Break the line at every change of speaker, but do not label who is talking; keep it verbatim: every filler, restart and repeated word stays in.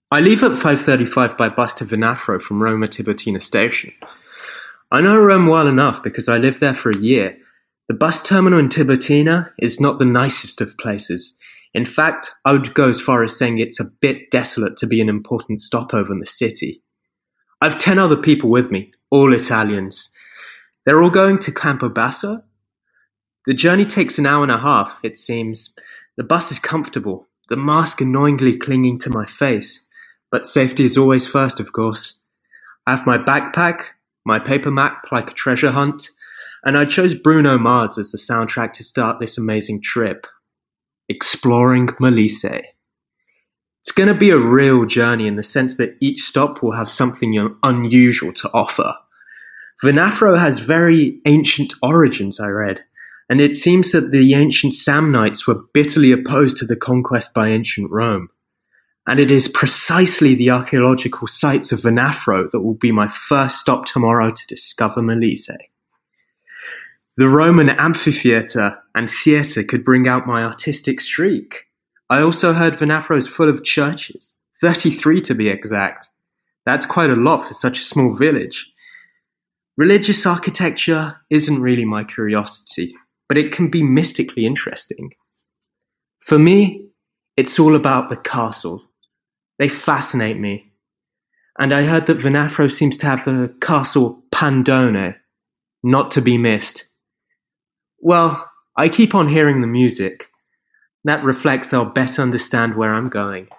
I leave at five thirty-five by bus to Venafro from Roma Tiburtina station. I know Rome well enough because I lived there for a year. The bus terminal in Tiburtina is not the nicest of places. In fact, I would go as far as saying it's a bit desolate to be an important stopover in the city. I've ten other people with me, all Italians. They're all going to Campobasso. The journey takes an hour and a half, it seems. The bus is comfortable, the mask annoyingly clinging to my face. But safety is always first, of course. I have my backpack, my paper map like a treasure hunt, and I chose Bruno Mars as the soundtrack to start this amazing trip. Exploring Molise. It's going to be a real journey in the sense that each stop will have something unusual to offer. Venafro has very ancient origins, I read, and it seems that the ancient Samnites were bitterly opposed to the conquest by ancient Rome. And it is precisely the archaeological sites of Venafro that will be my first stop tomorrow to discover Molise. The Roman amphitheatre and theatre could bring out my artistic streak. I also heard Venafro is full of churches, thirty-three to be exact. That's quite a lot for such a small village. Religious architecture isn't really my curiosity, but it can be mystically interesting. For me, it's all about the castle. They fascinate me. And I heard that Venafro seems to have the castle Pandone, not to be missed. Well, I keep on hearing the music. That reflects I'll better understand where I'm going.